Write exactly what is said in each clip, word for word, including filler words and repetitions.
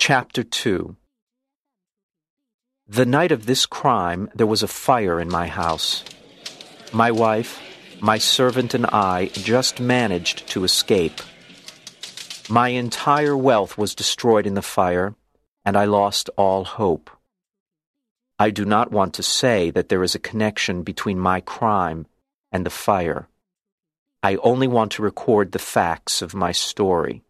Chapter two. The night of this crime, there was a fire in my house. My wife, my servant, and I just managed to escape. My entire wealth was destroyed in the fire, and I lost all hope. I do not want to say that there is a connection between my crime and the fire. I only want to record the facts of my story.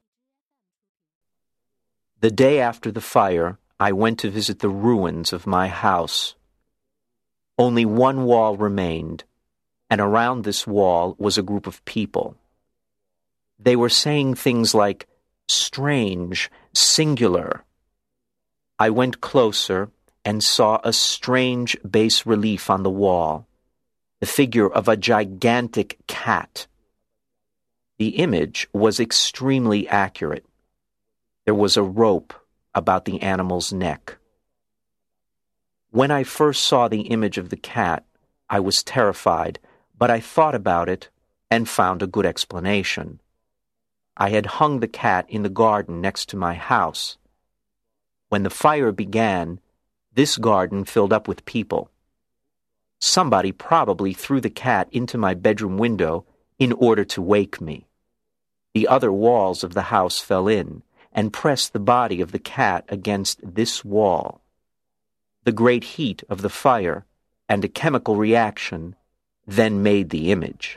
The day after the fire, I went to visit the ruins of my house. Only one wall remained, and around this wall was a group of people. They were saying things like, strange, singular. I went closer and saw a strange bas-relief on the wall, the figure of a gigantic cat. The image was extremely accurate. There was a rope about the animal's neck. When I first saw the image of the cat, I was terrified, but I thought about it and found a good explanation. I had hung the cat in the garden next to my house. When the fire began, this garden filled up with people. Somebody probably threw the cat into my bedroom window in order to wake me. The other walls of the house fell in and pressed the body of the cat against this wall. The great heat of the fire and a chemical reaction then made the image.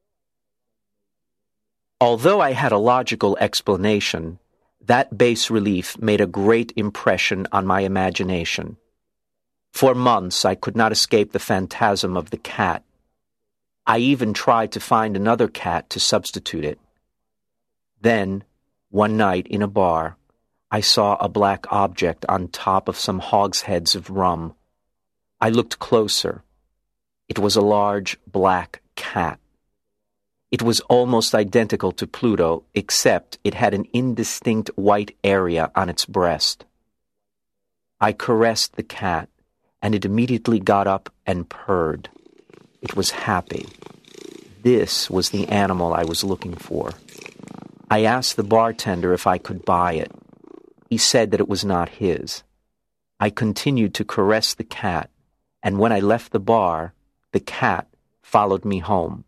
Although I had a logical explanation, that bas-relief made a great impression on my imagination. For months I could not escape the phantasm of the cat. I even tried to find another cat to substitute it. Then, one night in a bar, I saw a black object on top of some hogsheads of rum. I looked closer. It was a large black cat. It was almost identical to Pluto, except it had an indistinct white area on its breast. I caressed the cat, and it immediately got up and purred. It was happy. This was the animal I was looking for. I asked the bartender if I could buy it. He said that it was not his. I continued to caress the cat, and when I left the bar, the cat followed me home.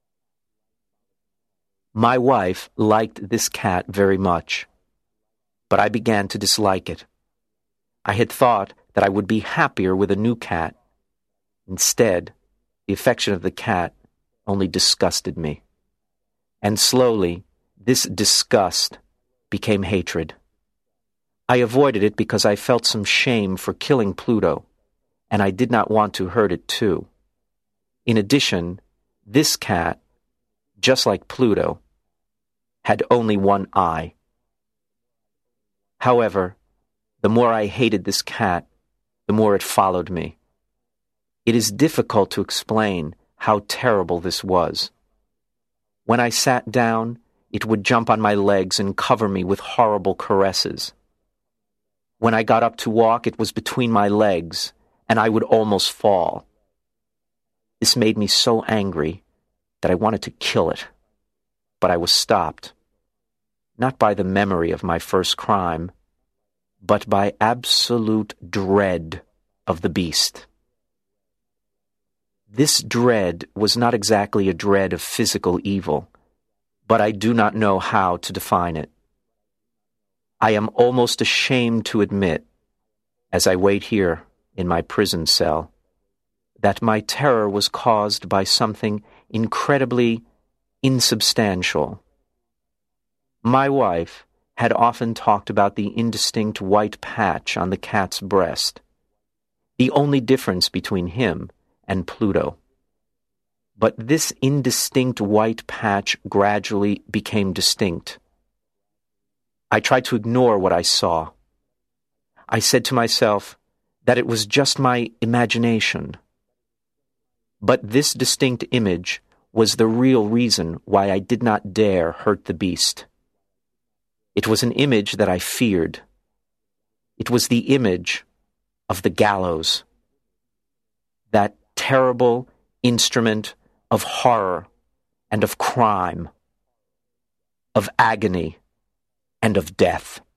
My wife liked this cat very much, but I began to dislike it. I had thought that I would be happier with a new cat. Instead, the affection of the cat only disgusted me. And slowly, this disgust became hatred. I avoided it because I felt some shame for killing Pluto, and I did not want to hurt it too. In addition, this cat, just like Pluto, had only one eye. However, the more I hated this cat, the more it followed me. It is difficult to explain how terrible this was. When I sat down, it would jump on my legs and cover me with horrible caresses. When I got up to walk, it was between my legs, and I would almost fall. This made me so angry that I wanted to kill it, but I was stopped, not by the memory of my first crime, but by absolute dread of the beast. This dread was not exactly a dread of physical evil, but I do not know how to define it. I am almost ashamed to admit, as I wait here in my prison cell, that my terror was caused by something incredibly insubstantial. My wife had often talked about the indistinct white patch on the cat's breast, the only difference between him and Pluto. But this indistinct white patch gradually became distinct. I tried to ignore what I saw. I said to myself that it was just my imagination. But this distinct image was the real reason why I did not dare hurt the beast. It was an image that I feared. It was the image of the gallows, that terrible instrument of horror and of crime, of agony and of death.